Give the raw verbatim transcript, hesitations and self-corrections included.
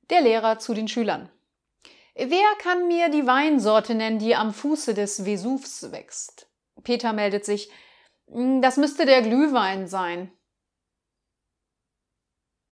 Der Lehrer zu den Schülern. Wer kann mir die Weinsorte nennen, die am Fuße des Vesuvs wächst? Peter meldet sich. Das müsste der Glühwein sein.